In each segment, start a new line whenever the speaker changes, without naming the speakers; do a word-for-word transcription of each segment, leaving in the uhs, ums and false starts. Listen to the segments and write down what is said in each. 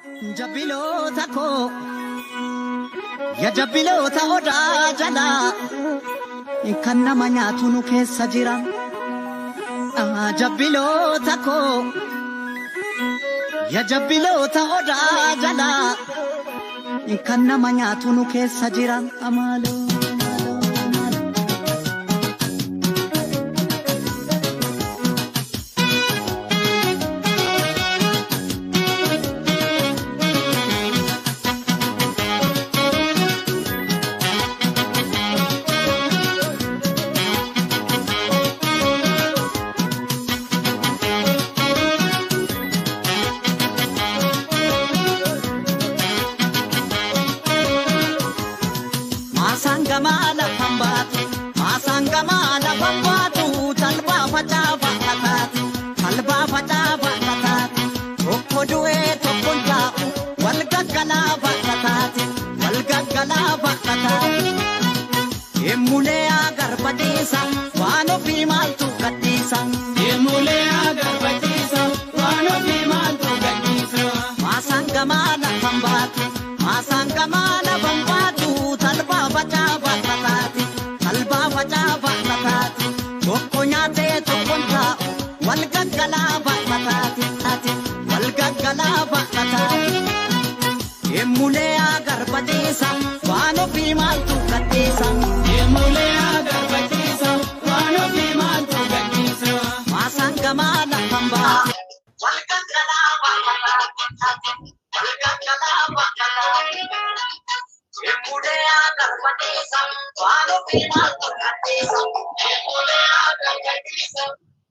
Jabilo tako, ya jabilo ta oda jala, inkanna manya tunu ke sajira. Ah jabilo tako, ya jabilo ta oda jala, inkanna manya tunu ke sajira amalo. Masangamala pambatu, masangamala pambatu, talba fataba katat, talba fataba katat, okodue tokonta, walgagala katat, walgagala katat. Emule agar patisa, wano pimal tu katisa. Emule agar patisa, wano pimal tu katisa. Masangamala pambatu, masangamala pambatu. Talba fataba katati, talba fataba katati, tokonya te tokonta, walgagala katati, walgagala katati. Emule agar patisa, wano pimal tu katisa. Emule agar patisa, wano pimal tu katisa. Masangamala pamba, walgagala katati, walgagala katati. Emule agar patisa, wano pimal tu katisa. Emule agar patisa.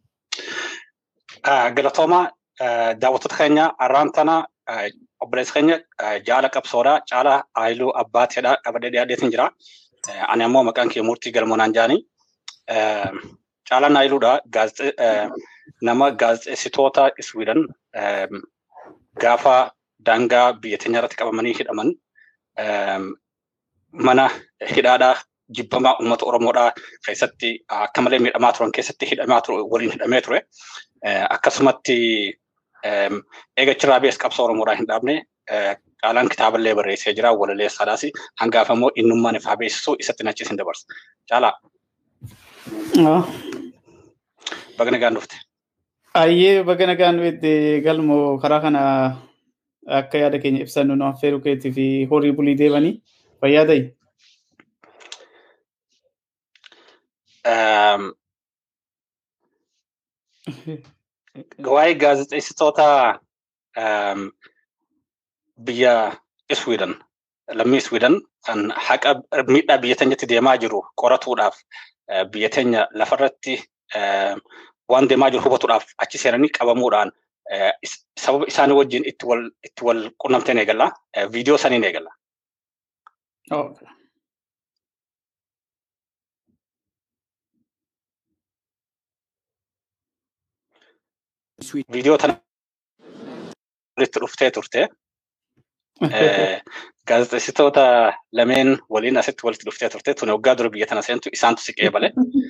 Galatoma daawwattoota keenya arraantana obboleessa keenya jaala qabsoodha caala aayiluu abbaatedha qabadee dhiyaateetiin jira. Ani ammoo maqaan kee Murtii Galmoonaan jaani. Caalaan aayiluudha nama gaazexeessitoota Iswiidhan gaafa daangaa biyya teenya irratti qabamanii hidhaman mana hidhaadhaa jibbamaa uummata Oromoodhaa keessatti akka malee miidhamaa turan keessatti hidhamaa ture waliin hidhamee ture. Akkasumatti eega Chiraabees qabsoo Oromoodhaa hin dhaabne caalaan kitaaballee barreessee jira walaleessaadhaas hangaaf ammoo innummaan ifaa beeksisuu isatti nachiis hin dabarsa. Caalaa. Baga nagaan dhufte.
Ayyee baga nagaan dhufte Galmoo karaa kana akka yaada keenya ibsannu nu affeeruu keetii fi horii bulii deebanii fayyadayi.
Waa'ee gaazexeessitoota biyya Iswiidhan lammii Iswiidhan kan haqa miidhaa biyya teenyatti deemaa jiru qoratuudhaaf biyya teenya lafarratti waan deemaa jiru hubatuudhaaf achi seenanii qabamuudhaan sababa isaanii wajjin itti wal itti wal qunnamteen eegalla viidiyoo saniin eegalla. Video tana walitti dhuftee turte. Gaazexeessitoota lameen waliin asitti walitti dhuftee turte. Tuni waggaa dura biyya tana seentu isaantu si qeebale.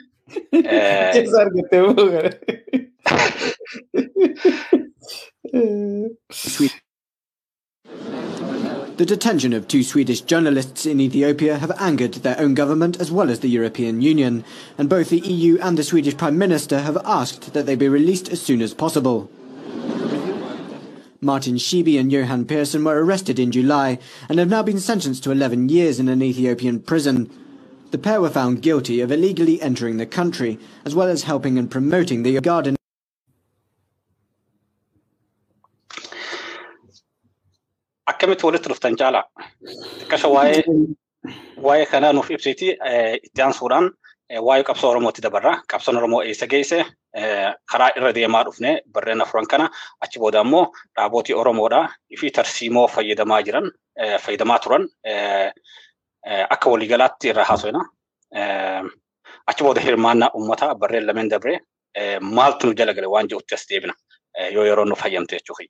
The detention of two Swedish journalists in Ethiopia have angered their own government as well as the European Union, and both the E U and the Swedish Prime Minister have asked that they be released as soon as possible. Martin Schiebe and Johan Persson were arrested in July and have now been sentenced to eleven years in an Ethiopian prison. The pair were found guilty of illegally entering the country, as well as helping and promoting the garden.
Akkamitti walitti dhuftan Caalaa xiqqasha waa'ee waa'ee kanaa nuuf ibsiti itti aansuudhaan waa'ee qabsoo Oromootti dabarra. Qabsoon Oromoo eessa geesse karaa irra deemaa dhufne barreen afuran kana achi booda ammoo dhaabootii Oromoodhaa fi tarsiimoo fayyadamaa jiran fayyadamaa turan akka waliigalaatti irra haasofna. Achi booda hirmaannaa uummataa barreen lameen dabree maaltu nu jala gale waan jedhutti as deebina yoo yeroo nu fayyamte jechuudha.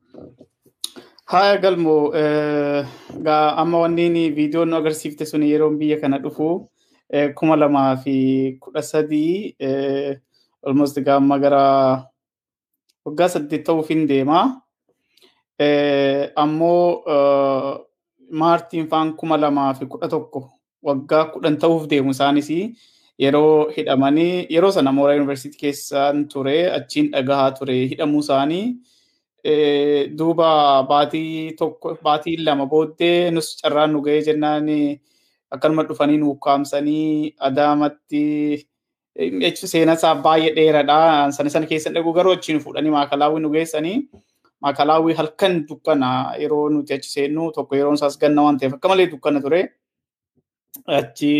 Haa Galmoo gaa amma wanni viidiyoon nu agarsiifte sun yeroo biyya kana dhufu kuma lamaa fi kudha sadii almost gaa amma gara waggaa saddeet ta'uuf hin deema. ammoo Maartiin faan kuma lamaa fi kudha tokko waggaa kudhan ta'uuf deemu isaanis yeroo hidhamanii yeroo sana Mooraa Yuunivarsiitii keessaan ture achiin dhagahaa ture hidhamuu isaanii duuba baatii tokko baatii lama booddee nus carraan nu ga'ee jennaan akkanuma dhufanii nu ukkaamsanii Adaamatti seenaa isaa baay'ee dheeraadha. Sana sana keessa dhaquu garuu achiin fuudhanii Maakalaawwii nu geessanii Maakalaawwii halkan dukkana yeroo nuti achi seennu tokko yeroon isaas ganna waan ta'eef akka malee dukkana ture. Achi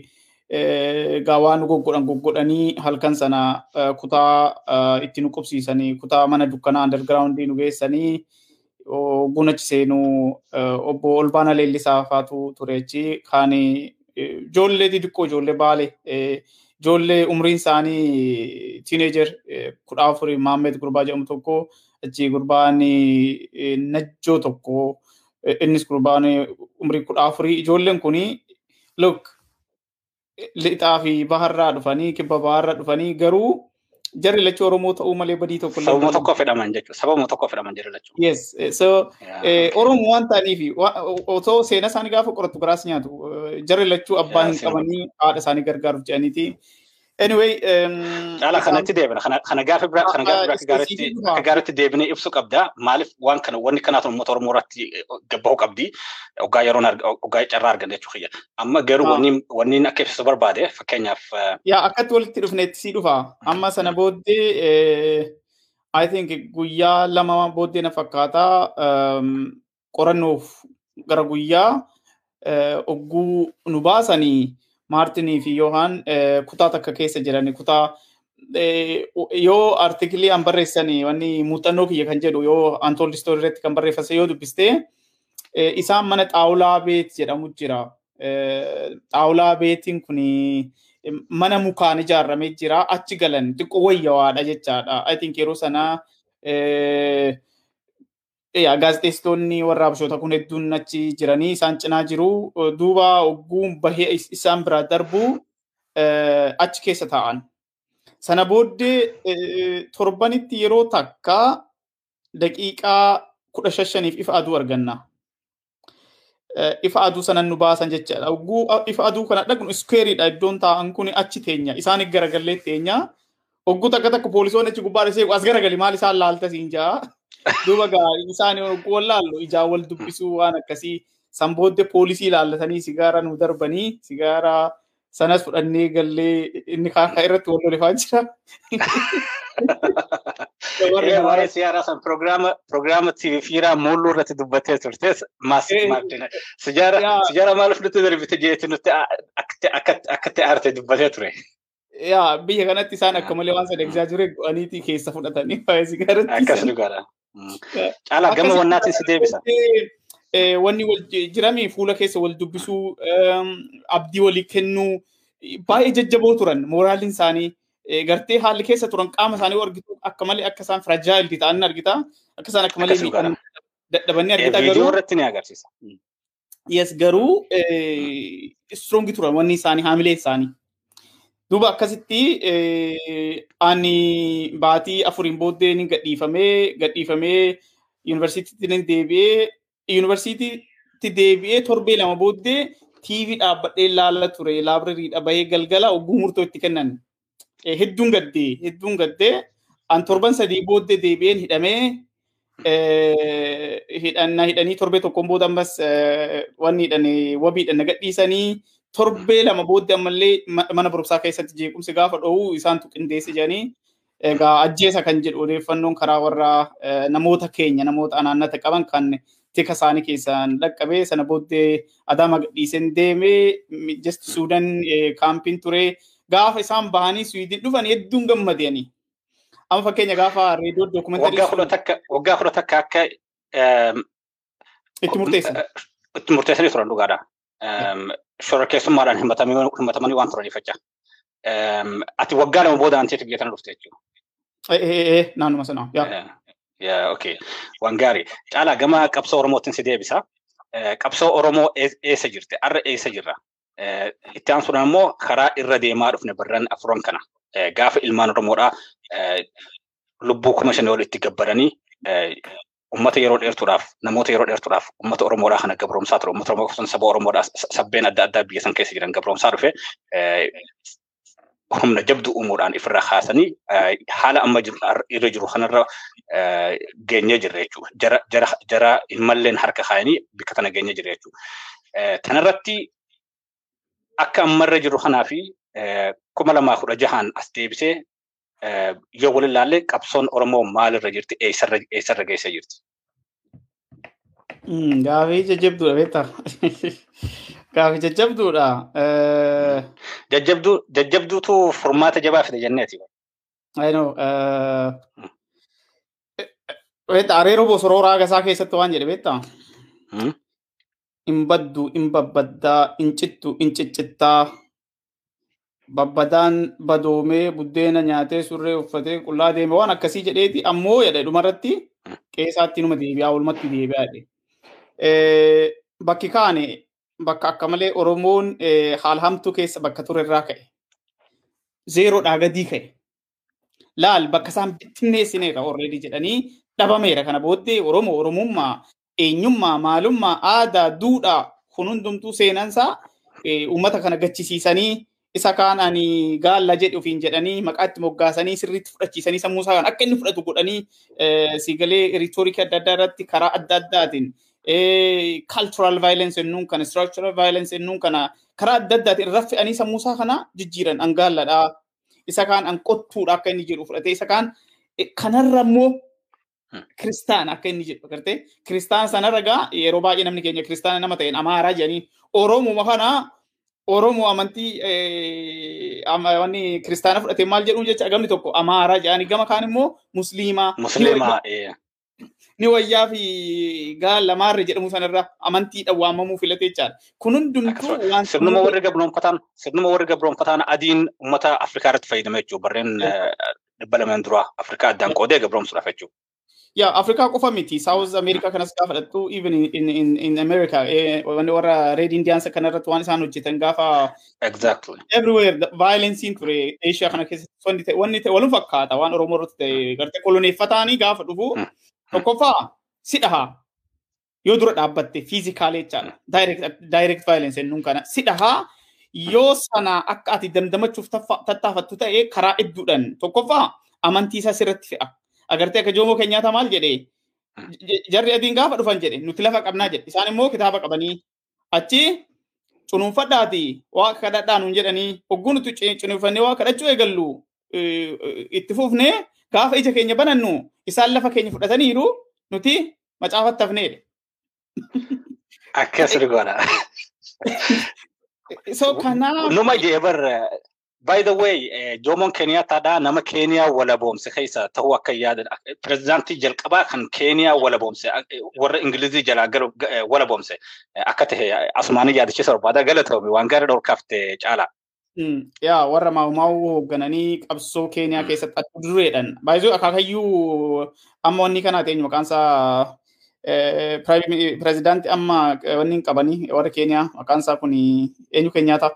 gaawaa nu goggodhan goggodhanii halkan sana kutaa itti nu qubsiisanii kutaa mana dukkanaa undergroundii nu geessanii ogguun achi seenuu obbo Olbaana Leellisaa faatu ture achi kaan ijoollee xixiqqoo ijoollee baale ijoollee umriin isaanii teenager kudha afurii Maammed Gurbaa jedhamu tokko achi gurbaan Najjoo tokko innis gurbaan umrii kudha afurii ijoolleen kuni look lixaa fi baharraa dhufanii kibba baharraa dhufanii garuu jarri lachuu Oromoo ta'uu malee badii tokko
illee sababa tokko fedhaman jechuudha sababa tokko fedhaman jarri lachuu
yes so Oromoo waan ta'aniif otoo seenaa isaanii gaafa qoratu garaas nyaatu jarri lachuu abbaan hin qabanii haadha isaanii gargaaruuf jedhaniiti anyway
ala kanatti deebina kana gaafa bira kana gaafa bira gaaritti akka gaaritti deebinee ibsu qabda maaliif waan kana wanni kanaatu uummata Oromoo irratti gabbaa'u qabdi ogaa yeroon ogaa carraa argan jechuu xiyya amma garuu wanni wanni akka ibsu barbaade fakkeenyaaf
yaa akkatti walitti dhufneetti si dhufa amma sana booddee I think guyyaa lama booddee na fakkaata qorannoof gara guyyaa ogguu nu baasanii Maartinii fi Yohaan kutaa takka keessa jirani kutaa yoo artikelii an barreessanii wanni muuxannoo kiyya kan jedhu yoo Untold Story irratti kan barreeffase yoo dubbiste isaan mana xaawulaa beet jedhamu jira. Xaawulaa beetiin kuni mana mukaan ijaarramee jira achi galan xiqqoo wayyawaadha jechaadha. I think yeroo sana yaa gaazexeessitoonni warra Habashoota kun hedduun achi jiranii isaan cinaa jiru duuba ogguun bahee isaan biraa darbu achi keessa taa'an. Sana booddee torbanitti yeroo takka daqiiqaa kudha shaniif ifa aduu arganna. Ifa aduu sanan nu baasan jechaadha. Ogguu ifa aduu kana dhaqnu iskeeriidha iddoon taa'an kun achi teenya isaan garagallee teenya. Ogguu takka takka poolisoonni achi gubbaa dhasee as garagali maal isaan laalta siin jaa. Duuba gaa isaan wallaallu ijaa wal dubbisuu waan akkasii san booddee poolisii ilaallatanii sigaara nu darbanii sigaara sanas fudhannee gallee inni kaan irratti wal lolifaa jira.
Waa'ee siyaaraa san pirogiraama T V fiiraa mulluu irratti dubbattee turtes maasii maartina sijaara maaliif nutti darbite jeetti nutti akkatti aarte dubbattee ture.
Yaa biyya kanatti isaan akka malee waan sadeegsaa jire go'aniitii keessa fudhatanii waa'ee sigaaratti.
Akkas dhugaadha. Caalaa gama wannaatiin si deebisa.
Wanni wal jirami fuula keessa wal dubbisuu abdii walii kennuu baay'ee jajjaboo turan mooraalin isaanii gartee haalli keessa turan qaama isaanii argitu akka malee akka isaan fragile ta'an argita akka isaan akka malee miidhan dadhabanii argita garuu
viidiyoo irratti ni agarsiisa.
Yes garuu strong turan wanni isaanii haamilee isaanii. Duuba akkasitti ani baatii afuriin booddee ni gadhiifamee gadhiifamee yuunivarsiitiitti ni deebi'ee yuunivarsiitiitti deebi'ee torbee lama booddee T V dhaabbadhee ilaala ture laabrariidha bahee galgala ogguu murtoo itti kennan. Hedduun gaddee hedduun gaddee an torban sadii booddee deebi'een hidhamee hidhanna hidhanii torbee tokkoon booda ammas wanni hidhanii wabiidhaan gadhiisanii torbee lama booddee ammallee mana barumsaa keessatti jeequmsi gaafa dho'u isaantu qindeesse jedhanii egaa ajjeesa kan jedhu odeeffannoon karaa warra namoota keenya namoota anaannata qaban kan tika isaanii keessaan dhaqqabee sana booddee Adaama gadhiiseen deemee just Suudaan kaampiin ture gaafa isaan bahanii Suwiidin dhufan hedduun gammadanii. Amma fakkeenya gaafa reediyoo dookumentarii
waggaa kudha takka waggaa kudha takka akka
itti murteessan
itti murteessanii turan dhugaadha. Shora keessummaadhaan himatamanii waan turaniif jecha. Ati waggaa lama booda anteetu biyya dhufte jechuudha.
Eh naannuma sana.
Yaa okay. Waan gaarii. Caalaa gama qabsoo Oromootiin si deebisa. Qabsoo Oromoo eessa jirti? Arra eessa jirra? Itti aansuudhaan immoo karaa irra deemaa dhufne barran afuran kana. Gaafa ilmaan Oromoodhaa lubbuu kuma shanii ol itti gabbaranii ummata yeroo dheertuudhaaf namoota yeroo dheertuudhaaf ummata Oromoodhaa kana gabroomsaa ture ummata Oromoo kun saba Oromoodhaa sabbeen adda addaa biyya san keessa jiran gabroomsaa dhufe humna jabdu uumuudhaan ifirraa kaasanii haala amma irra jiru kanarra geenyee jirra jechuudha. Jara jara jara immalleen harka kaayanii bikka tana geenyee jirra jechuudha. Tanarratti akka ammarra jiru kanaa fi kuma lamaa kudha jahaan as deebisee yoo waliin ilaalle qabsoon Oromoo maalirra jirti eessarra eessarra geessee jirti.
Gaafii jajjabduudha beektaa. Gaafii jajjabduudha.
Jajjabduu jajjabduutu furmaata jabaa fide jenneeti.
I know. Beektaa areeroo bosoroo raagasaa keessatti waan jedhe beektaa. In baddu in babbaddaa in cittu in ciccittaa. Babbadaan badoomee buddeena nyaatee surree uffatee qullaa deeme waan akkasii jedheeti ammoo jedhe dhumarratti qeesaatti numa deebi'aa olmatti deebi'aa jedhe. Bakki kaane bakka akka malee Oromoon haal hamtuu keessa bakka ture irraa ka'e. Zeeroodhaa gadii ka'e. Laal bakka isaan bittinneessineera already jedhanii dhabameera kana booddee Oromoo Oromummaa eenyummaa maalummaa aadaa duudhaa kun hundumtuu seenansaa uummata kana gachisiisanii isa kaan ani gaalla jedhu ofiin jedhanii maqaatti moggaasanii sirriitti fudhachiisanii sammuu isaa akka inni fudhatu godhanii siigalee rhetoric adda addaa irratti karaa adda addaatiin cultural violence ennuun kana structural violence ennuun kana karaa adda addaatiin irra fe'anii sammuu isaa kana jijjiiran an gaalladha isa kaan an qottuudha akka inni jedhu fudhatee isa kaan kanarra immoo Kristaan akka inni jedhu agartee Kristaan sanarra gaa yeroo baay'ee namni keenya Kristaana nama ta'een Amaaraa jedhanii Oromoo kana Oromoo amantii wanni Kiristaana fudhatee maal jedhuun jecha gamni tokko Amaaraa jedhanii gama kaan immoo Musliimaa.
Musliimaa.
Ni wayyaa fi gaala maarre jedhamu sanarra amantiidhaan waamamuu filatee jechaadha. Kun hundumtuu waan
sirnuma warri gabroonfataan sirnuma warri gabroonfataan adiin uummata Afrikaa irratti fayyadamee jechuudha. Barreen dhibba lamaan dura Afrikaa addaan qoodee gabroomsuudhaaf jechuudha.
Yeah, Africa kofa miti. South America kana skafa datu even in in in, in America. Eh, when or Red Indians kana datu one sanu jitan gafa.
Exactly.
Everywhere the violence in Korea, Asia kana kes one te one te walun fakata one Oromo rote garte koloni fatani gafa dubu. To kofa sidaha. Yo dura dabatte physically chala. Direct direct violence ennun kana sidaha. Yo sana akka ati damdamachuf tattafattu ta'e karaa idduudhaan tokkoffaa amantii isaa sirratti fe'a. Agartee akka Jomo Kenyatta maal jedhee jarri adiin gaafa dhufan jedhe nuti lafa qabnaa jedhe isaan immoo kitaaba qabanii achi cunuunfadhaati waa kadhadhaa nuun jedhanii hogguu nuti cunuunfannee waa kadhachuu eegallu itti fufnee gaafa ija keenya banannu isaan lafa keenya fudhataniiru nuti macaafatti hafneedha.
Akkas rigoodha.
So kanaaf
numa jeebar by the way Jomo Kenyatta da nama Kenya wala boomse keessa ta'uu akka yaadan prezidaantii jalqabaa kan Kenya wala boomse warra Ingilizii jalaa galu wala boomse akka ta'e asumaanii yaadachiisa barbaada galatoomii waan gaarii dhorkafte caala.
Yaa warra maa'umaa'uu hooggananii qabsoo Kenya keessatti akka dureedhaan baay'ee akaakayyuu amma wanni kanaa ta'e maqaan isaa prezidaantii amma wanni qabanii warra Kenya maqaan isaa kun eenyu Kenyatta.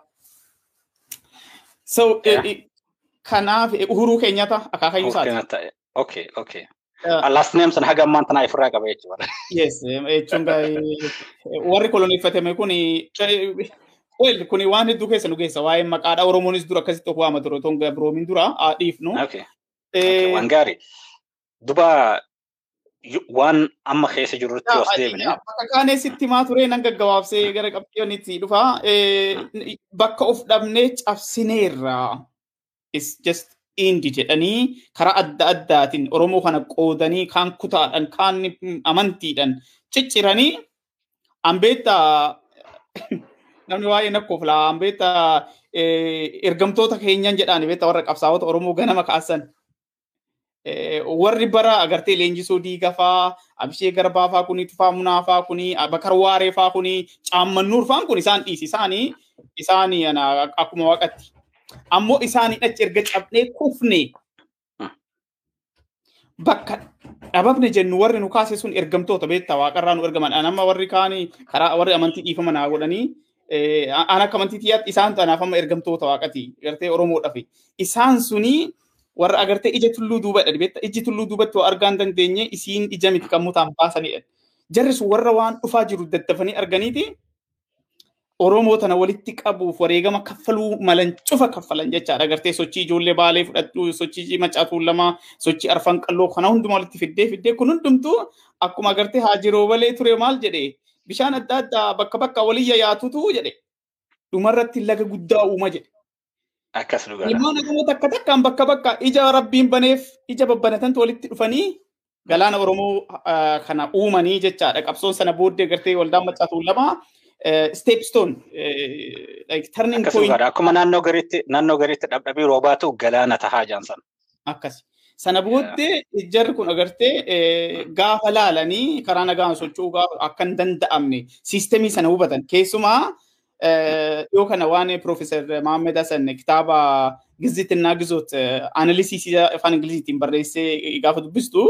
So kanaaf Uhuru Kenyatta akaakayyuu isaati.
Okay, okay. Last name san haga ammaan tanaa ifirraa qaba jechuudha.
Yes, jechuun warri koloneeffatame kuni well kuni waan hedduu keessa nu geessa waa'ee maqaadhaa Oromoonis dura akkasitti of waama ture otoo gabroomin dura dhiifnu.
Okay. Waan gaarii. Duba waan amma keessa jirrutti os deebine.
Bakka kaanee sitti maa ture nan gaggabaabsee gara qabxiyoonitti dhufa. Bakka of dhabnee cabsineerra. It's just indi jedhanii karaa adda addaatiin Oromoo kana qoodanii kaan kutaadhaan kaan amantiidhaan cicciranii ambeetta namni waa'ee nakkoof laa ambeetta ergamtoota keenyan jedhaan beetta warra qabsaa'ota Oromoo ganama kaasan. Warri bara agartee leenjisoo diigafaa abishee garbaafaa kuni tufaa munaafaa kuni bakar waareefaa kuni caammannuur faan kun isaan dhiisi isaanii isaanii akkuma waaqatti ammoo isaanii achi erga cabnee kufne bakka dhababne jennu warri nu kaase sun ergamtoota beektaa waaqarraa nu ergaman amma warri kaanii karaa warri amantii dhiifama naa godhanii aan akka amantii tiyyaatti isaan tanaaf amma ergamtoota waaqati gartee Oromoo dhafe isaan sunii warra agartee ija tulluu duubadha beektaa iji tulluu duubatti waa argaan dandeenye isiin ija miti kan mutaan baasanidha. Jarri sun warra waan dhufaa jiru daddafanii arganiiti Oromoo tana walitti qabuuf wareegama kaffaluu malan cufa kaffalan jechaadha. Agartee sochii ijoollee baalee fudhadhu sochii macaatuu lama sochii arfan qalloo kana hundumaa walitti fiddee fiddee kun hundumtuu akkuma agartee haajiroo balee ture maal jedhee bishaan adda addaa bakka bakka waliyya yaatutu jedhe dhumarratti laga guddaa uuma jedhe.
Akkas dhugaadha.
Ilmaan namoota akka takkaan bakka bakka ija rabbiin baneef ija babbanatantu walitti dhufanii galaana Oromoo kana uumanii jechaadha. Qabsoon sana booddee agartee waldaan macaatuu lama stepstone like turning point.
Akkuma naannoo gariitti naannoo gariitti dhabdhabii roobaatu galaana tahaa jaansan.
Akkas. Sana booddee jarri kun agartee gaafa laalanii karaa nagaan socho'uu gaafa akka hin danda'amne siistemii sana hubatan. Keessumaa yoo kana waan Profeesar Mahammed Hassan kitaaba Gizitinaa Gizoot analysis afaan Ingiliziitiin barreessee gaafa dubbistu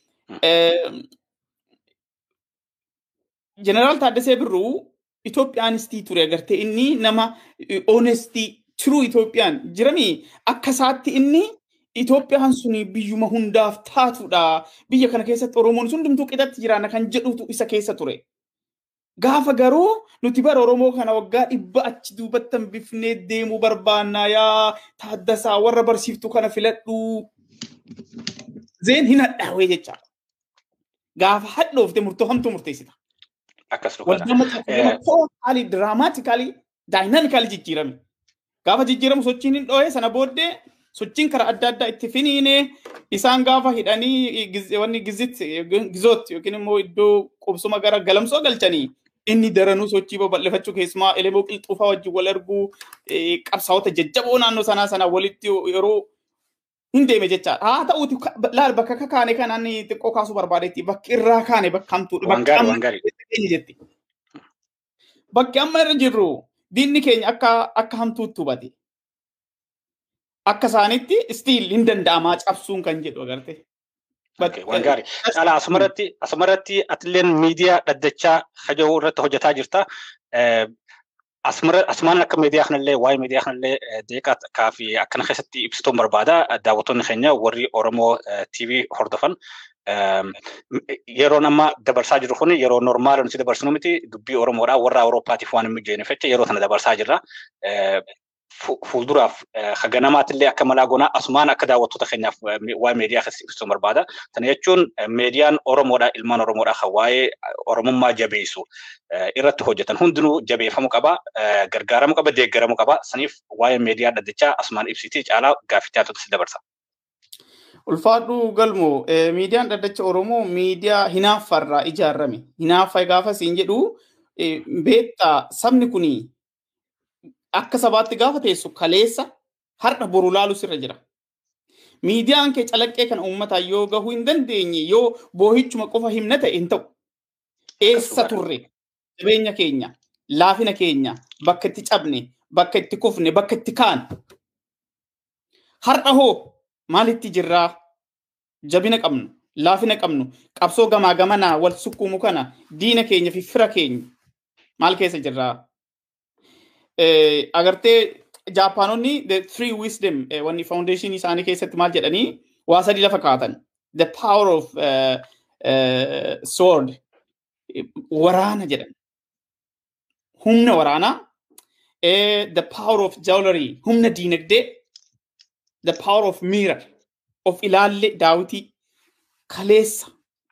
Jeneraal Taaddasee Birruu Itoophiyaanistii ture agartee inni nama honestii true Itoophiyaan jirami akka isaatti inni Itoophiyaan suni biyyuma hundaaf taatudha. Biyya kana keessatti Oromoon hundumtuu qixatti jiraana kan jedhutu isa keessa ture. Gaafa garuu nuti bara Oromoo kana waggaa dhibba achi duubattan bifnee deemuu barbaannaa yaa Taaddasaa warra barsiiftu kana filadhu. Zeen hin hadhaawee jecha. Gaafa hadhoofte murtoo hamtuu murteessita.
Akkas dhugaadha.
Haalli diraamaatikaalii daayinaamikaalii jijjiirame. Gaafa jijjiiramu sochiin hin dhoohe sana booddee sochiin karaa adda addaa itti finiine isaan gaafa hidhanii wanni gizit gizoot yookiin immoo iddoo qubsuma gara galamsoo galchanii inni daranuu sochii babal'ifachuu keessumaa elemoo qilxuufaa wajjin wal arguu qabsaa'ota jajjaboo naannoo sanaa sana walitti yeroo hin deeme jechaadha. Haa ta'uuti laal bakka kakaane kanaan xiqqoo kaasuu barbaadetti bakki irraa kaane bakka hamtuudha.
Wangaari wangaari.
Bakki amma irra jirru diinni keenya akka akka hamtuutti hubate. Akka isaanitti stiil hin danda'amaa cabsuun kan jedhu agarte.
Wangaari. Caalaa asumarratti asumarratti atilleen miidiyaa dhaddachaa hajoo irratti hojjetaa jirta. Asumaan akka miidiyaa kanallee waa'ee miidiyaa kanallee deeqaa kaafi akkana keessatti ibsituun barbaada. Daawwattoonni keenya warri Oromoo T V hordofan yeroon amma dabarsaa jiru kun yeroo normaala nuti dabarsinu miti dubbii Oromoodhaa warra Awurooppaatiif waan hin mijjeenyeeffacha yeroo sana dabarsaa jirra. Fuulduraaf haganamaatillee akka malaa goonaa asumaan akka daawwattoota keenyaaf waa'ee miidiyaa keessatti ibsituun barbaada. Kana jechuun miidiyaan Oromoodhaa ilmaan Oromoodhaa kan waa'ee Oromummaa jabeessu irratti hojjetan hundinuu jabeeffamuu qaba, gargaaramuu qaba, deeggaramuu qaba. Saniif waa'ee miidiyaa dhaddachaa asumaan ibsitii caalaa gaaffii si dabarsa.
Ulfaadhu galmoo miidiyaan dhaddacha Oromoo miidiyaa hinaaffarraa ijaarame. Hinaaffa gaafa siin jedhu beektaa sabni kunii akka sabaatti gaafa teessu kaleessa har'a boru laalu sirra jira. Miidiyaan kee calaqqee kana uummataa yoo gahuu hin dandeenye yoo boohichuma qofa himna ta'e hin ta'u. Eessa turre qabeenya keenya, laafina keenya, bakka itti cabne, bakka itti kufne, bakka itti kaan. Har'a hoo maalitti jirraa? Jabina qabnu, laafina qabnu, qabsoo gamaa gamanaa wal sukkuumu kana diina keenya fi fira keenya maal keessa jirraa? Agartee Jaapaanonni the three wisdom wanni foundation isaanii keessatti maal jedhanii waa sadii lafa kaatan. The power of uh, uh, sword waraana jedhan. Humna waraanaa. The power of jewelry humna diinagdee. The power of mirror of ilaalle daawwitii kaleessa.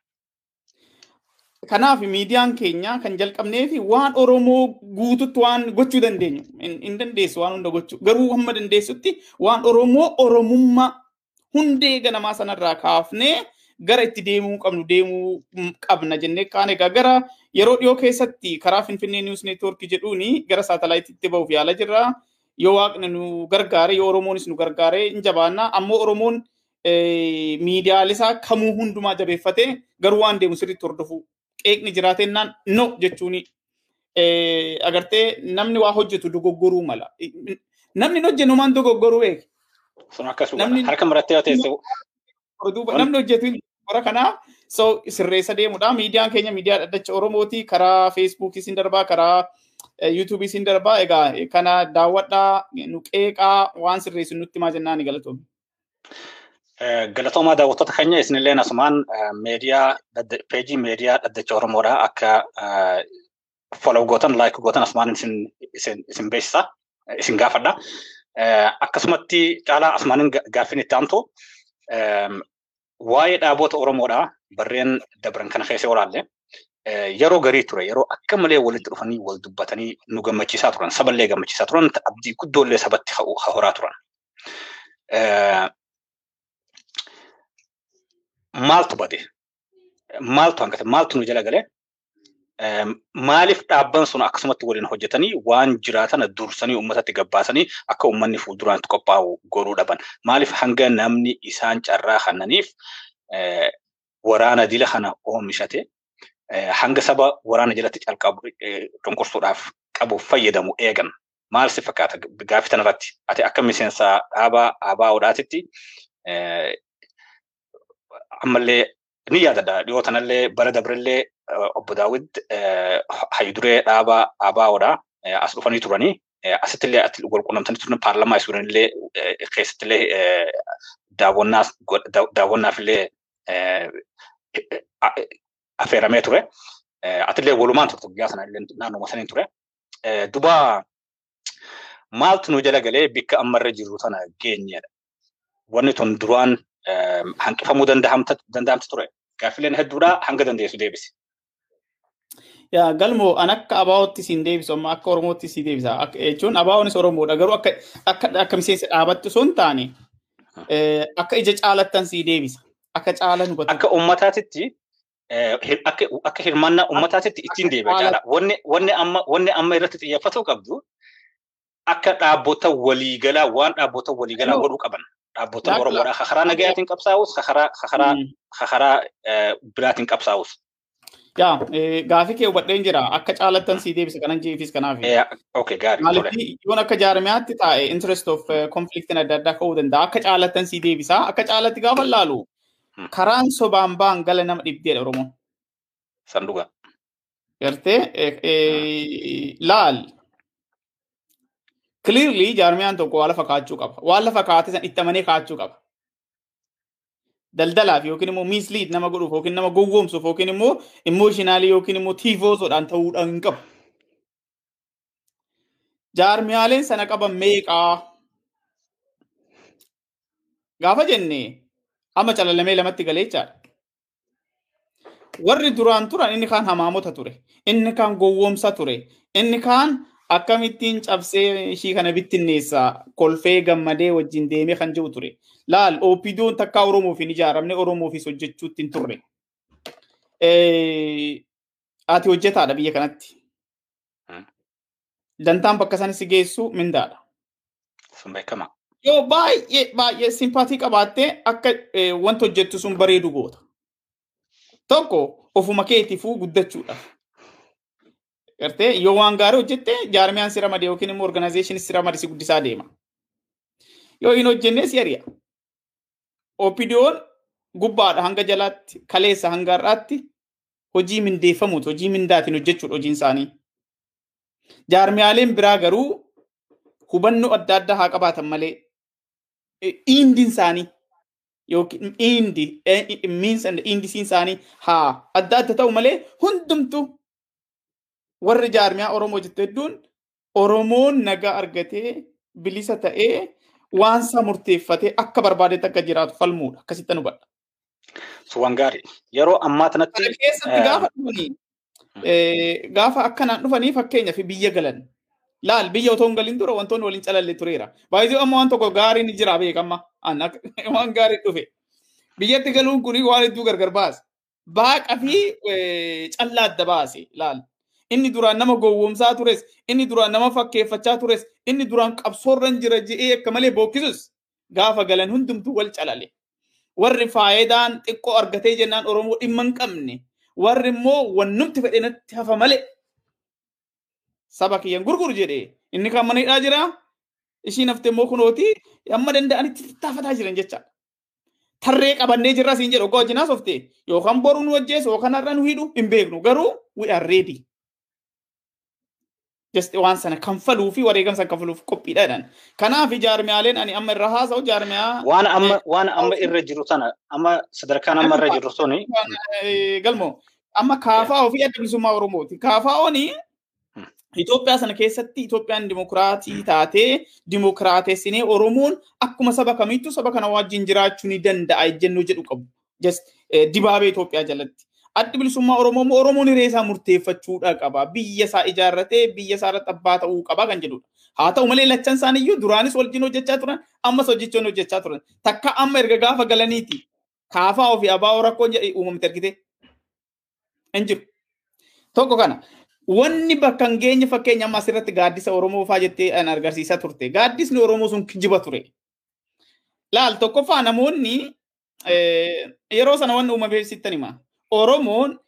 Kanaaf miidiyaan keenya kan jalqabnee fi waan Oromoo guututti waan gochuu dandeenyu hin dandeessu waan hunda gochuu garuu hamma dandeessutti waan Oromoo Oromummaa hundee ganamaa sanarraa kaafnee gara itti deemuu qabnu deemuu qabna jennee kaan egaa gara yeroo dhiyoo keessatti karaa Finfinnee News Network jedhuuni gara saatalaayitiitti ba'uuf yaala jirra. Yoo waaqni nu gargaare yoo Oromoonis nu gargaare hin jabaanna ammoo Oromoon miidiyaalisaa kamuu hundumaa jabeeffate garuu waan deemu sirriitti hordofu. Qeeqni jiraatennaan no jechuuni agartee namni waa hojjetu dogoggoruu mala. Namni hojjennu maan dogoggoruu eegi.
Sun akkasuma harka marattee yoo teessu.
Namni hojjetu hora kanaaf so sirreessa deemudha. Miidiyaan keenya miidiyaa dhaddacha Oromooti karaa Feesbuukii siin darbaa karaa yuutuubii siin darbaa egaa kana daawwadhaa nu qeeqaa waan sirreessu nutti maa jennaan galatoomne.
Galatoomaa daawwattoota keenya isinillee asumaan meediyaa peejii meediyaa dhaddacha Oromoodhaa akka follow gootan like gootan asumaan isin isin isin beeksisa isin gaafadha. Akkasumatti caalaa asumaan gaaffin itti aantu waa'ee dhaabbata Oromoodhaa barreen dabran kana keessa olaalle yeroo garii ture yeroo akka malee walitti dhufanii wal dubbatanii nu gammachiisaa turan saballee gammachiisaa turan abdii guddoollee sabatti horaa turan. Maaltu bade maaltu hangate maaltu nu jala galee maaliif dhaabban sun akkasumatti waliin hojjetanii waan jiraatan dursanii uummatatti gabbaasanii akka uummanni fuulduraan qophaa'u godhuu dhaban maaliif hanga namni isaan carraa kannaniif waraana dila kana oomishate hanga saba waraana jalatti calqabu cunqursuudhaaf qabu fayyadamu eegan maal si fakkaata gaaffii tanarratti ati akka miseensa dhaabaa abaa odaatitti ammallee ni yaadada dhiyoo tanallee bara dabrillee obbo Daawid hayduree dhaabaa abaa odaa as dhufanii turanii asittillee ati walqunnamtanii turan paarlamaa isuuranillee keessattillee daawwannaaf daawwannaafillee affeeramee ture atillee walumaan turte guyyaa sanallee naannoo masaniin ture duba maaltu nu jala galee bikka ammarra jirru tana geenyedha wanni tun duraan hanqifamuu danda'amtu ture gaaffileen hedduudha hanga dandeessu deebisi.
Yaa galmoo an akka abaa'ootti siin deebisu amma akka oromootti siin deebisa jechuun abaa'oonis oromoodha garuu akka akka akka miseensa dhaabatti osoo hin taane akka ija caalattan siin deebisa akka caala nu batu.
Akka uummataatitti akka akka hirmaannaa uummataatitti ittiin deebi'a caala wanni wanni amma wanni amma irratti xiyyeeffatuu qabdu akka dhaabbota waliigalaa waan dhaabbota waliigalaa godhuu qaban. Dhaabbota Oromoodhaa hakaraa nagayaatiin qabsaa'us hakaraa hakaraa hakaraa biraatiin qabsaa'us.
Yaa gaaffii kee hubadheen jira akka caalattan sii deebisa kanan jeefis kanaaf.
Okay gaarii.
Maaliif yoon akka jaarmiyaatti taa'e interest of conflict adda addaa ka'uu danda'a akka caalattan sii deebisa akka caalatti gaafa laalu karaan sobaan baan gala nama dhibdeedha Oromoon.
Sanduuqa.
Gartee laal. Clearly, jaarmiyaan tokko waan lafa kaachuu qaba. Waan lafa kaate san itti amanee kaachuu qaba. Daldalaaf yookiin immoo mislead nama godhuuf yookiin nama gowwoomsuuf yookiin immoo emotionally yookiin immoo tiivoosodhaan ta'uudhaan hin qabu. Jaarmiyaaleen sana qaban meeqaa? Gaafa jennee amma calalamee lamatti galee jechaadha. Warri duraan turan inni kaan hamaamota ture. Inni kaan gowwoomsa ture. Inni kaan akkamittiin cabsee ishii kana bittinneessa kolfee gammadee wajjin deemee kan jiru ture. Laal Opidoon takkaa Oromoof hin ijaaramne Oromoofis hojjechuutti hin turre. Ati hojjetaadha biyya kanatti. Dantaan bakka sanis geessu mindaadha.
Sun beekama.
Yoo baay'ee baay'ee simpaatii qabaattee akka wanta hojjettu sun bareedu goota. Tokko ofuma keetiifuu guddachuudhaaf. Gartee yoo waan gaarii hojjette jaarmiyaan si ramade yookiin immoo organizationii si ramade si guddisaa deema. Yoo hin hojjenne si ari'a. Opidoon gubbaadha hanga jalaatti kaleessa hanga har'aatti hojii mindeeffamuuti hojii mindaatiin hojjechuudha hojiin isaanii. Jaarmiyaaleen biraa garuu hubannoo adda addaa haa qabaatan malee indiin isaanii yookiin indi means and indisiin isaanii haa adda adda ta'u malee hundumtu warri jaarmiyaa Oromoo jettu hedduun Oromoon nagaa argatee bilisa ta'ee waan isaa murteeffatee akka barbaadetti akka jiraatu falmuudha akkasitti nu badha.
Suwan gaarii yeroo ammaa kanatti
keessatti gaafa dhufanii gaafa akkanaan dhufanii fakkeenyaaf biyya galan laal biyya otoo hin galin dura wantoonni waliin calalle tureera. Baay'ee amma waan tokko gaariin jira beekama waan gaarii dhufe biyyatti galuun kun waan hedduu gargar baase baaqa fi callaa adda baase laal. Inni duraan nama gowwoomsaa tures, inni duraan nama fakkeeffachaa tures, inni duraan qabsoorran jira je'ee akka malee bookkisus gaafa galan hundumtuu wal calale. Warri faayidaan xiqqoo argatee jennaan Oromoo dhimma hin qabne. Warri immoo wannumti fedhe natti hafa malee. Saba kiyyan gurguru jedhee inni kan mana hidhaa jira. Ishiin haftee immoo kunooti amma danda'anitti tattafataa jiran jecha. Tarree qabannee jirra siin jedhu ogoo wajjinaas oftee yookaan boru nu wajjees yookaan har'a nu hidhu hin beeknu garuu we are ready. just waan sana kanfaluu fi wareegama sana kanfaluuf qophiidhaan. Kanaaf jaarmiyaaleen ani amma irra haasa'u jaarmiyaa
waan amma waan amma irra jiru sana amma sadarkaan amma irra jiru suni
galmo amma kaafaa ofii adda bilisummaa Oromooti. Kaafaa'ooni Itoophiyaa sana keessatti Itoophiyaan dimokiraatii taatee dimokiraatessinee Oromoon akkuma saba kamittuu saba kana wajjin jiraachuu ni danda'a jennuu jedhu qabu. Just dibaabee Itoophiyaa jalatti. Addi bilisummaa Oromoo Oromoon hiree isaa murteeffachuudha qaba. Biyya isaa ijaarratee biyya isaa irratti abbaa ta'uu qaba kan jedhudha. Haa ta'u malee lachan isaaniiyyuu duraanis wajjin hojjechaa turan ammas hojjechuun hojjechaa turan. Takka amma erga gaafa galaniiti kaafaa ofii abbaa rakkoon jedhee uumamte argite. Hin jiru. Tokko kana. Wanni bakka hin geenye fakkeenya amma asirratti gaaddisa Oromoo fa'aa jettee an agarsiisaa turte. Gaaddisni Oromoo sun kijiba ture. Laal tokkoffaa namoonni yeroo sana wanni uumamee sittan hima. Oromoon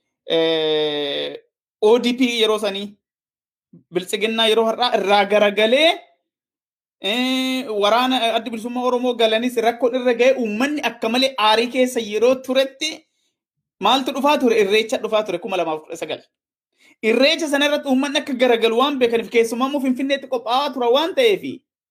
O D P yeroo sanii biltsiginnaa yeroo har'aa irraa garagalee waraana addi bilisummaa Oromoo galanis rakkoon irra ga'ee uummanni akka malee aarii keessa yeroo turetti maaltu dhufaa ture irreecha dhufaa ture kuma lamaaf kudha sagal. Irreecha sana irratti uummanni akka garagalu waan beekaniif keessumaa immoo Finfinneetti qophaa'aa tura waan ta'eef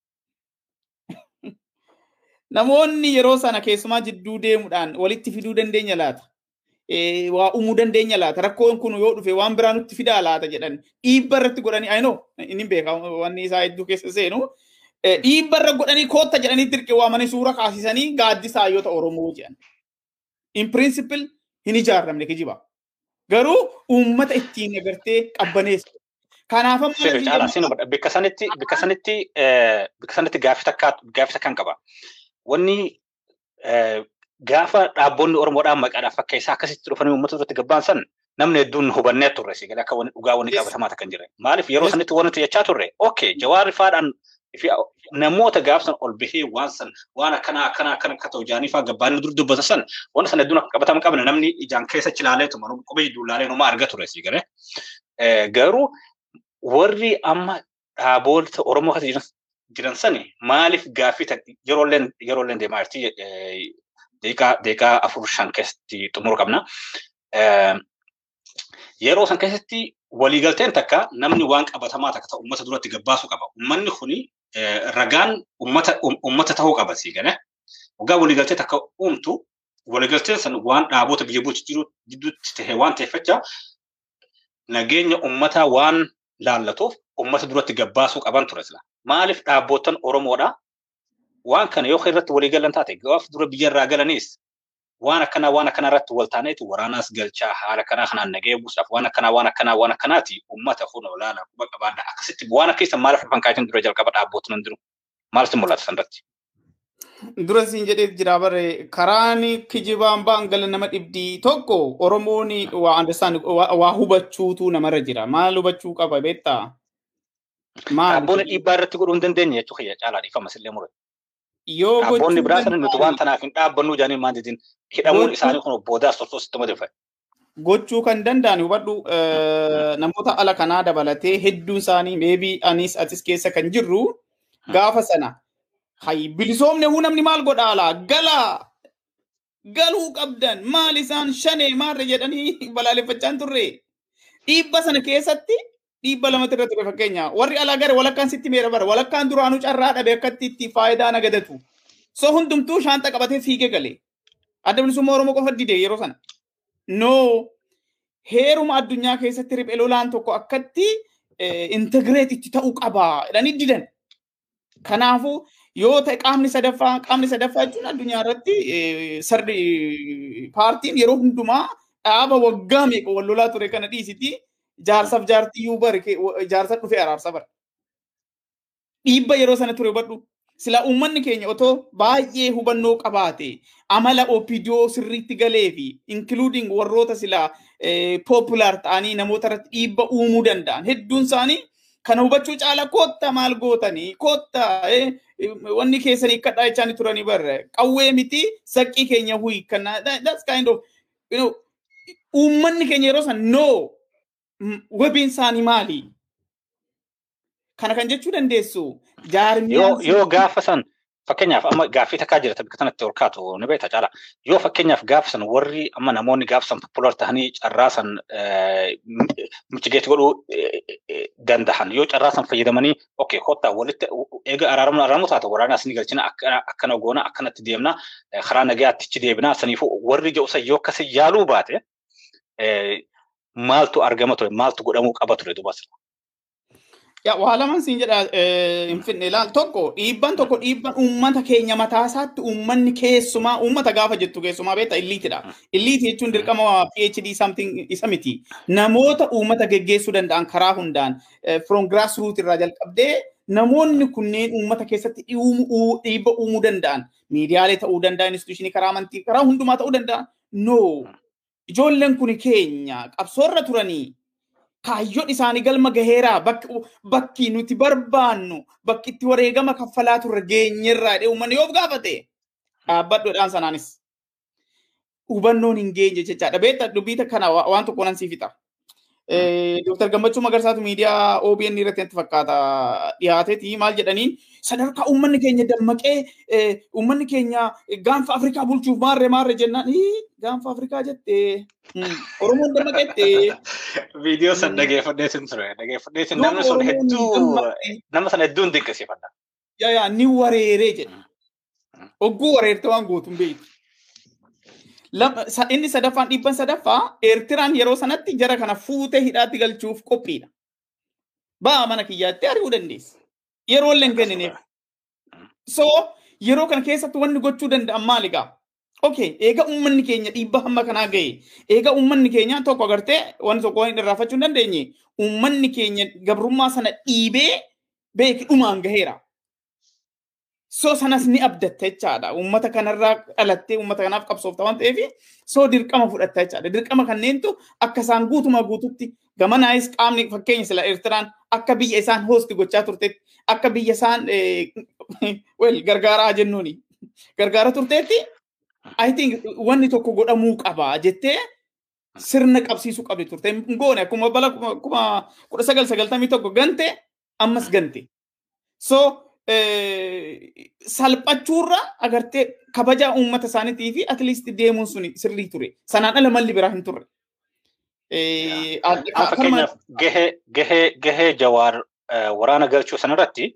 namoonni yeroo sana keessumaa jidduu deemuudhaan walitti fiduu dandeenya laata. Waa uumuu dandeenya laata. Rakkoon kun yoo dhufe waan biraa nutti fidaa laata jedhan dhiibba irratti godhanii ayinoo inni beeka wanni isaa hedduu keessa seenu dhiibba irra godhanii kootta jedhanii dirqee waamanii suura kaasisanii gaaddisaa yoo ta'u Oromoo jedhan. In principle hin ijaaramne kijiba. Garuu uummata ittiin agartee qabbaneessu. Kanaaf amma
sirrii caalaa sinu bikka sanitti bikka sanitti bikka sanitti gaaffii takka gaaffii takkan qaba. Wanni gaafa dhaabonni Oromoodhaan maqaadhaaf akka isaa akkasitti dhufanii uummata irratti gabbaan san namni hedduun hubannee turre si gala akka wanni dhugaa wanni qabatamaa takkan jire. Maaliif yeroo sanitti wanti jechaa turre? Okay, Jawaarri faadhaan namoota gaafsan ol bahee waan san waan akkana akkana akkana akka ta'u jaanii faa gabbaanii dur dubbata san waan sana hedduun akka qabatama qabna namni ijaan keessa chilaaleetu manu qubee jidduu laalee numa arga ture si gale. Garuu warri amma dhaaboota Oromoo keessa jiran sani maaliif gaaffii yeroolleen yeroolleen deemaa jirti deeqaa deeqaa afur shan keessatti xumura qabna. Yeroo san keessatti waliigalteen takka namni waan qabatamaa takka ta'u uummata duratti gabbaasu qaba. Uummanni kuni ragaan uummata uummata ta'uu qaba si gale. Waggaa waliigaltee takka uumtu waliigalteen san waan dhaaboota biyya bulchu jiru gidduutti ta'e waan ta'eeffacha nageenya uummataa waan laallatuuf uummata duratti gabbaasuu qaban ture sila. Maaliif dhaabootan Oromoodha waan kana yoo irratti waliigalan taate gaaf dura biyyarraa galanis waan akkana waan akkana irratti waltaaneetu waraanaas galchaa haala kanaa kanaan nagee buusaaf waan akkana waan akkana waan akkanaati uummata kun olaanaa quba qabaadha akkasitti waan akka isa maaliif fankaatiin dura jalqaba dhaabbootan hin jiru maaltu mul'ata sanirratti.
Dura siin jedhee jira bare karaan kijibaan baan gala nama dhibdii tokko Oromoon waa understand waa hubachuutu namarra jira maal hubachuu qaba beektaa.
Dhaabboonni dhiibbaa irratti godhuu hin dandeenye jechuudha kiyya caalaa dhiifama sillee mure.
Yoo
dhaabboonni biraa sana nuti waan tanaaf hin dhaabbannuu jaanii maan jedhin hidhamuun isaanii kun boodaas tortoo sitti madafa.
Gochuu kan danda'an hubadhu namoota ala kanaa dabalatee hedduun isaanii maybe anis atis keessa kan jirru gaafa sana hay bilisoomne huu namni maal godhaa laa galaa galuu qabdan maal isaan shanee maarra jedhanii balaaleffachaan turre dhiibba sana keessatti dhiibba lamatti irra ture fakkeenya warri alaa gara walakkaan sitti meera bara walakkaan duraanuu carraa dhabe akkatti itti faayidaa nagadatu so hundumtuu shaanta qabatee fiigee galee adda bilisummaa Oromoo qofa dide yeroo sana no heeruma addunyaa keessatti riphee lolaan tokko akkatti integrate itti ta'uu qaba jedhanii didan. Kanaafuu yoo ta'e qaamni sadaffaa qaamni sadaffaa jechuun addunyaa irratti sardi paartiin yeroo hundumaa dhaaba waggaa meeqa wal lolaa ture kana dhiisiti jaarsaaf jaartiyyuu bare jaarsa dhufee araarsa bara. Dhiibba yeroo sana ture hubadhu sila uummanni keenya otoo baay'ee hubannoo qabaate amala O P D O sirriitti galee fi including warroota sila popular ta'anii namoota irratti dhiibba uumuu danda'an hedduun isaanii kana hubachuu caala kootta maal gootanii kootta wanni keessanii kadhaa jechaanii turanii barre qawwee miti saqqii keenya huyi kana that's kind of you know uummanni keenya yeroo san no wabiin isaanii maali kana kan jechuu dandeessu jaarmiyaan
yoo yoo gaafa san fakkeenyaaf amma gaaffii takkaa jira tabbata kanatti ol kaatu ni beekta caala yoo fakkeenyaaf gaafa san warri amma namoonni gaafa san popular ta'anii carraa san michigeetti godhuu dandahan yoo carraasan fayyadamanii okay hotta walitti eega araaramu araaramu taata waraana asni galchina akkana goona akkanatti deemna karaa nagaatti ichi deebina saniifu warri ja'usa yoo akkasi yaaluu baate maaltu argama ture maaltu godhamuu qaba ture dubas
Ya wala man siin jedha infinne laal tokko dhiibban tokko dhiibban ummata keenya mataasaatti ummanni keessumaa ummata gaafa jettu keessumaa beeta illiitidha. Illiiti jechuun dirqama PhD something isa miti. Namoota ummata geggeessuu danda'an karaa hundaan from grassroots irraa jalqabdee namoonni kunneen ummata keessatti dhiibba uumuu danda'an miidiyaalee ta'uu danda'an instituushinii karaa amantii karaa hundumaa ta'uu danda'an no ijoolleen kun keenya qabsoorra turanii kaayyoon isaanii galma gaheeraa bakki nuti barbaannu bakki itti wareegama kaffalaa turre geenyerraa dhee uummanni yoo gaafate dhaabbadhoodhaan sanaanis hubannoon hin geenye jechaadha. Beektaa dubbiita kana waan tokko nan siif fixa. Doktor Gammachuu Magarsaatu miidiyaa O B N irratti natti fakkaata dhiyaateeti maal jedhaniin sadarkaa uummanni keenya dammaqee uummanni keenya gaanfa Afrikaa bulchuuf maarree maarree jennaan gaanfa Afrikaa jettee Oromoon dammaqettee.
Viidiyoo san dhageeffadheetin ture dhageeffadheetin namni sun hedduu nama sana hedduun dinqisiifadha.
Yaa yaa ni wareeree jedha. Ogguu wareerte waan gootuun beektu. Inni sadaffaan dhibban sadaffaa Eertiraan yeroo sanatti jara kana fuutee hidhaatti galchuuf qophiidha. Ba'aa mana kiyyaatti ari'uu dandeessa. Yeroo illee hin kennineef. So yeroo kana keessatti wanni gochuu danda'an maali gaa? Okay, eega uummanni keenya dhiibba hamma kanaa ga'e. Eega uummanni keenya tokko agartee wanni tokko hin irraafachuu hin dandeenye. Uummanni keenya gabrummaa sana dhiibee beeki dhumaan gaheera. So sanas ni abdatta jechaadha. Uummata kanarraa dhalattee uummata kanaaf qabsoofta waan ta'eef so dirqama fudhatta jechaadha. Dirqama kanneentu akka isaan guutumaa guututti gamanaayis qaamni fakkeenya sila Eertiraan akka biyya isaan hoosti gochaa turteetti akka biyya isaan well gargaaraa jennuuni. Gargaara turteetti I think wanni tokko godhamuu qaba jettee sirna qabsiisuu qabdi turte. Ngoone akkuma bala kuma kudha sagal sagaltamii tokko gante ammas gante. So salphachuurra agartee kabaja uummata isaaniitii fi at least deemuun sun sirrii ture. Sanaan ala malli biraa hin turre.
Fakkeenyaaf gahee gahee Jawaar waraana galchuu sanarratti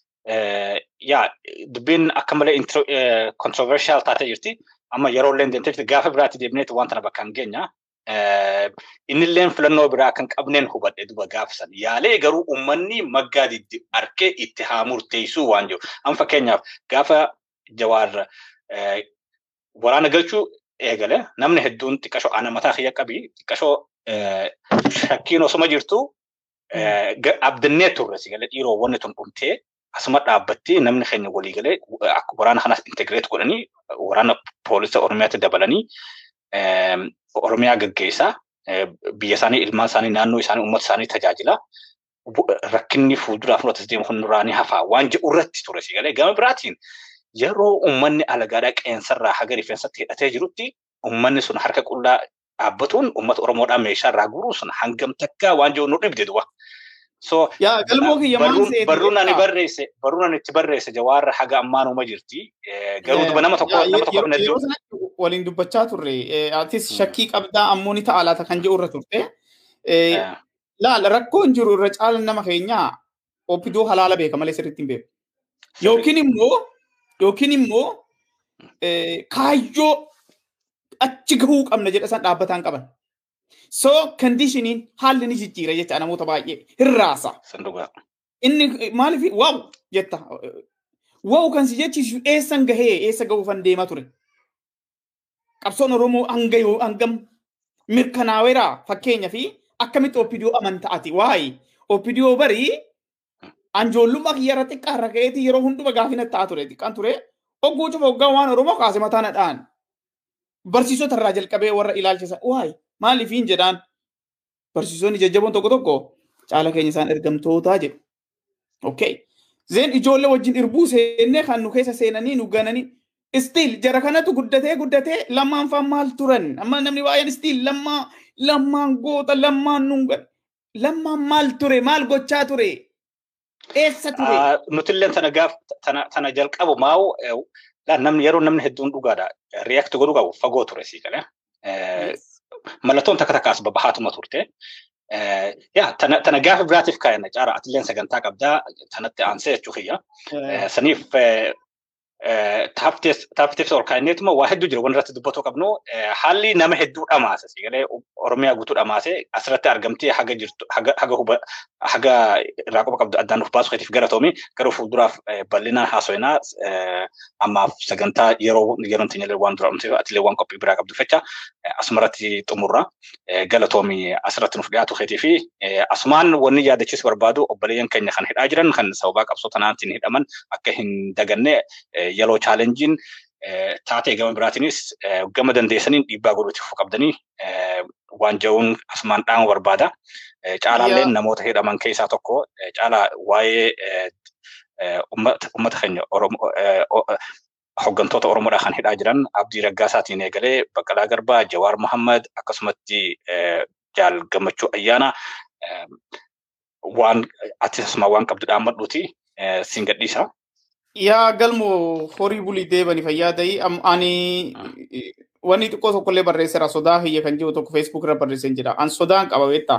yaa dubbiin akka malee controversial taatee jirti. Amma yeroo illee deemtee gaafa biraatti deebineetu waan tana bakka hin geenya. Innilleen filannoo biraa kan qabneen hubadhe duba gaafsan yaalee garuu uummanni maggaadii arkee itti haa murteessuu waan jiru. Amma fakkeenyaaf gaafa Jawaar waraana galchuu eegale namni hedduun xiqqashoo ana mataa kiyya qabi xiqqashoo shakkiin osuma jirtu abdannee turre sigale dhiiroo wanni tun dhumtee asuma dhaabbatti namni keenya walii galee waraana kanas integreet godhanii waraana poolisa Oromiyaatti dabalanii Oromiyaa gaggeessaa biyya isaanii ilmaan isaanii naannoo isaanii uummata isaanii tajaajila rakkinni fuulduraaf nuti deemu hunduraanii hafaa waan jedhu irratti ture sigalee gama biraatiin yeroo uummanni alagaadhaa qeensarraa haga rifeensatti hidhatee jirutti uummanni sun harka qullaa dhaabbatuun uummata Oromoodhaa meeshaa irraa guuruun sun hangam takkaa waan jedhu nu dhibde duba. So
yaa galmoo kiyya maan seeti
barruun ani barreesse barruun ani itti barreesse Jawaar haga ammaanuma jirti garuu duba nama tokko nama tokko hin
heddu waliin dubbachaa turre atis shakkii qabdaa ammoo ni ta'a laata kan jedhu irra turte laal rakkoon jiru irra caalan nama keenyaa oppidoo halaala beeka malee sirriitti hin beeku yookiin immoo yookiin immoo kaayyoo achi gahuu qabna jedha san dhaabbataan qaban. So conditioning haalli ni jijjiira jecha namoota baay'ee hirraasa.
Sanduuqa.
Inni maaliif waaw jetta. Waaw kan si jechiisu eessan gahee eessa gahuufan deemaa ture. Qabsoon Oromoo hanga yoo hangam mirkanaaweera fakkeenya fi akkamitti oppidoo amantaati waayi. Oppidoo barii anjoollummaa kiyyarra xiqqaarra ka'eeti yeroo hunduma gaafina ta'a ture xiqqaan ture. Ogguu cufa hoggaa waan Oromoo kaase mataa nadhaan. Barsiisota irraa jalqabee warra ilaalchisa waayi. Maaliif hin jedhaan barsiisonni jajjaboon tokko tokko caala keenya isaan ergamtootaa jedhu. Okay. Zeen ijoollee wajjin irbuu seennee kan nu keessa seenanii nu gananii still jara kanatu guddatee guddatee lammaan faan maal turan amma namni baay'een still lammaa lammaan goota lammaan nungan lammaan maal ture maal gochaa ture eessa ture.
Nutilleen tana gaaf tana tana jalqabu maa'u namni yeroo namni hedduun dhugaadha react godhuu qabu fagoo ture sii galee. Mallattoon takka takka as babbahaatuma turte. يا تنا تنا جاف براتيف كائن جارة أتلين سجنتاك أبدا تنت أنسى تشوفيا سنيف تافتس تافتس أو كائنات ما واحد دجر ونرت دبتو كابنو حالي نام هدو أماسة سيجله أرميا قطور أماسة أسرت أرجمتي حاجة جرت حاجة حاجة هو حاجة راكب كابد أدان في باس خيف جراتومي كرو في دراف بلينا حاسوينا أما سجنتا يرو يرون تنيل وان درام تيو أتلي وان كوبي براك كابد فتشة أسمرتي تمرة جلاتومي أسرت نفقاتو خيتي في أسمان ونيا دشيس بربادو أبليان كن خن هيد أجرن خن سوباك أبسطنا تنهيد أمن أكهن دجنة يلو challenging taatee gama biraatis gama dandeessaniin dhiibbaa godhuutti fuqabdanii waan ja'uun asmaan dhaan barbaada. Caalaalleen namoota hidhaman keessaa tokko caalaa waa'ee uummata keenya hoggantoota Oromoodhaa kan hidhaa jiran Abdii Raggaasaatiin eegalee Baqqalaa Garbaa, Jawaar Mohammad akkasumatti Jaal Gammachuu Ayyaana waan ati asuma waan qabdu dhaammadhuuti siin gadhiisa.
Yaa galmo horii bulii deebanii fayyadai ani wanni xiqqoo tokkollee barreesseera sodaa hiyya kan jiru tokko Facebook irra barreesseen jira an sodaan qaba beektaa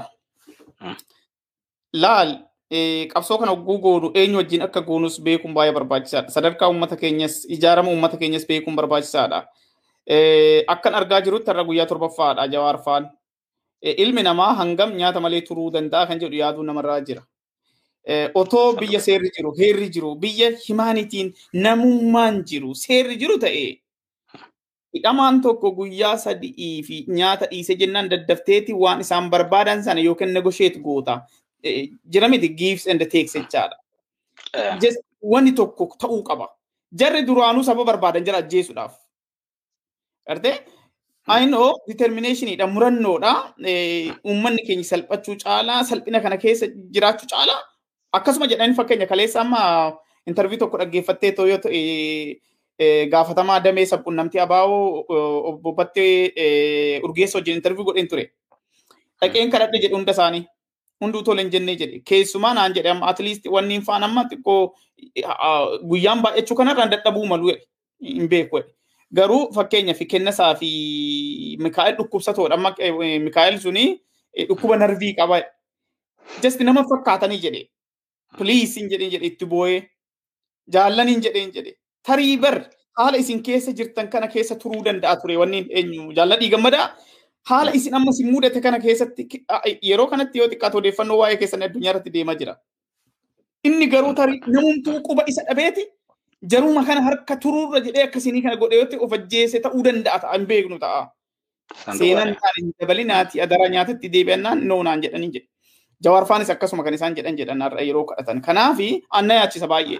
laal qabsoo kana goonu eenyu wajjin akka goonus beekuun baay'ee barbaachisaadha sadarkaa uummata keenyas ijaarama uummata keenyas beekuun barbaachisaadha akkan argaa jirutti har'a guyyaa torbaffaadha Jawaar faan ilmi namaa hangam nyaata malee turuu danda'a kan jedhu yaaduu namarraa jira. Otoo biyya seerri jiru, heerri jiru, biyya himaanitiin namummaan jiru, seerri jiru ta'e hidhamaan tokko guyyaa sadii fi nyaata dhiise jennaan daddafteeti waan isaan barbaadan sana yookiin negotiate goota. Jira miti gives and takes jechaadha. Wanni tokko ta'uu qaba. Jarri duraanuu saba barbaadan jira ajjeesuudhaaf. Gartee? I know determinationidha murannoodha. Uummanni keenya salphachuu caalaa salphina kana keessa jiraachuu caalaa akkasuma jedhanii fakkeenya kaleessa amma interview tokko dhaggeeffattee tooyoo gaafatamaa damee sabquunnamtii abaa'oo obbobattee urgeessa wajjin interview godheen ture. Dhaqeen kadhadhe jedhu hunda isaanii hunduu toleen jennee jedhe keessumaa naan jedhe amma at least wanni hin faan amma xiqqoo guyyaan baay'achuu kanarraan dadhabuu malu hin beeku. Garuu fakkeenya fi kennasaa fi Mikaa'el dhukkubsatoodha amma Mikaa'el suni dhukkuba narvii qaba. Just nama fakkaatanii jedhe. Please in jedheen jedhe itti boo'ee jaallaniin jedheen jedhe tarii bar haala isin keessa jirtan kana keessa turuu danda'a ture wanni eenyu jaalladhii gammadaa haala isin amma si mudate kana keessatti yeroo kanatti yoo xiqqaatu odeeffannoo waa'ee keessan addunyaa irratti deemaa jira. Inni garuu tarii namumtuu quba isa dhabeeti jaruma kana harka turuurra jedhee akkasinii kana godhee yoo of ajjeese ta'uu danda'a ta'a hin beeknu ta'a. Seenaan isaanii dabalinaati adara nyaatatti deebi'annaan noonaan jedhanii jedhe. Jawaar faanis akkasuma kan isaan jedhan jedhan har'a yeroo kadhatan. Kanaafi anna yaachisa baay'ee.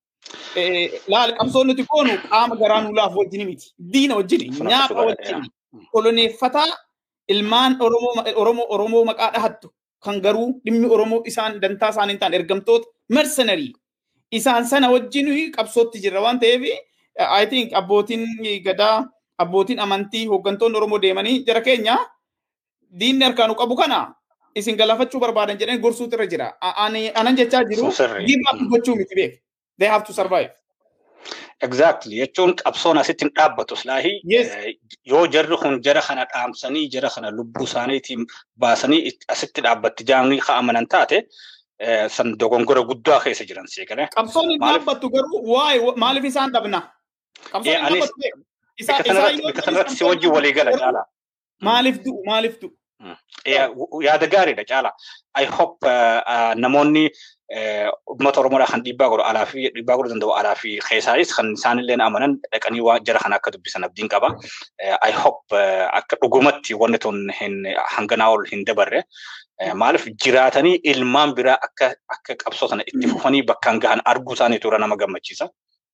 Laal qabsoon nuti goonu qaama garaa nulaaf wajjin miti. Diina wajjin, nyaapa wajjin. Koloneeffataa ilmaan Oromoo Oromoo Oromoo maqaa dhahattu kan garuu dhimmi Oromoo isaan dantaa isaanii ta'an ergamtoota mercenary. Isaan sana wajjin qabsootti jirra waan ta'eef I think abbootiin gadaa abbootiin amantii hooggantoonni Oromoo deemanii jara keenya diinni harkaanu qabu kana isin galafachuu barbaadan jedhanii gorsuutu irra jira. Anan jechaa jiru give up gochuu miti beek. They have to survive.
Exactly. Jechuun qabsoon asitti hin dhaabbatu silaahi yoo jarri kun jara kana dhaamsanii jara kana lubbuu isaaniitiin baasanii asitti dhaabbatti jaamni ka'amanan taate san dogongora guddaa keessa jiran seekale.
Qabsoon hin dhaabbattu garuu waa'ee maaliif isaan dhabna? Qabsoon hin dhaabbattu.
Bika sanarratti si wajjin walii gala caala.
Maaliif du'u maaliif du'u?
Yaada gaariidha caala. I hope namoonni ummata Oromoodhaa kan dhiibbaa godhu alaa fi dhiibbaa godhuu danda'u alaa fi keessaanis kan isaanillee amanan dhaqanii waan jara kana akka dubbisan abdiin qaba. I hope akka dhugumatti wanni tun hanganaa ol hin dabarre. Maaliif jiraatanii ilmaan biraa akka akka qabsoo sana itti fufanii bakkaan gahan arguu isaanii tura nama gammachiisa.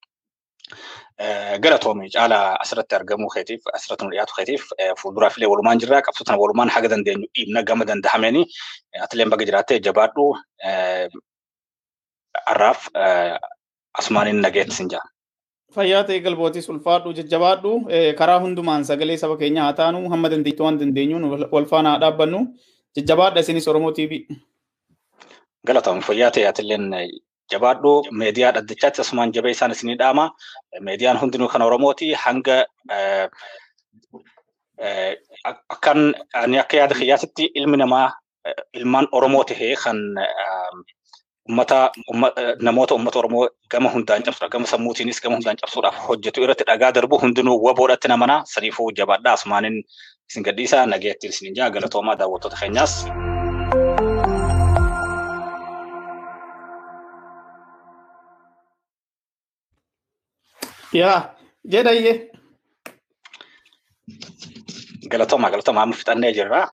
Galatoomii caalaa asirratti argamuu keetiif asirratti nu dhiyaatu keetiif fuulduraaf illee walumaan jirra qabsoo sana walumaan haga dandeenyu dhiibna gama danda'ameenii atileen baga jiraattee jabaadhu arraaf asmaaniin nageetti sin jaa.
Fayyaa ta'e galbootis ulfaadhu jajjabaadhu karaa hundumaan sagalee saba keenya haa taanu hamma dandeettu waan dandeenyuun wal faana haa dhaabbannu jajjabaadha isinis Oromoo T V.
Galatoomii fayyaa ta'e atileen jabaadhu meediyaa dhaddachaatti asumaan jabee isaan isinii dhaama. Meediyaan hundinuu kan Oromooti hanga akkan ani akka yaada kiyyaasitti ilmi namaa ilmaan Oromoo tahee kan ummata namoota ummata Oromoo gama hundaan cabsuudha gama sammuutiinis gama hundaan cabsuudhaaf hojjetu irratti dhagaa darbu hundinuu waboodhatti namana saniifuu jabaadhaa asumaanin isin gadhiisaa nageettiin isin jaa galatoomaa daawwattoota keenyaas.
yaa jedhayyee
galatoomaa galatoomaa amma fixannee jirra.